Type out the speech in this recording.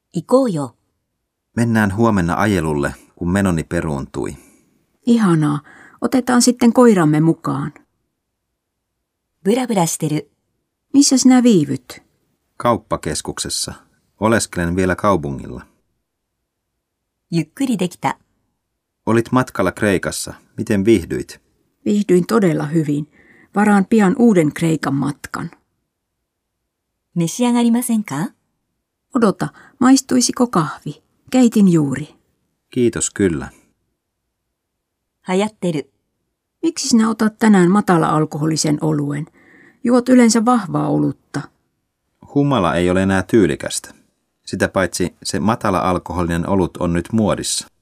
行こうよ。 Mennään huomenna ajelulle, kun menoni peruuntui. Ihanaa. Otetaan sitten koiramme mukaan. ブラブラしてる。 Missä sinä viivyt? Kauppakeskuksessa. Oleskelen vielä kaupungilla. ゆっくりできた。 Olit matkalla Kreikassa. Miten viihdyit? Viihdyin todella hyvin. Varaan pian uuden Kreikan matkan. 召し上がりませんか？ Odota, maistuisiko kahvi? Keitin juuri. Kiitos kyllä. 流行ってる。 Miksi sinä otat tänään matala-alkoholisen oluen? Juot yleensä vahvaa olutta. Humala ei ole enää tyylikästä. Sitä paitsi se matala-alkoholinen olut on nyt muodissa.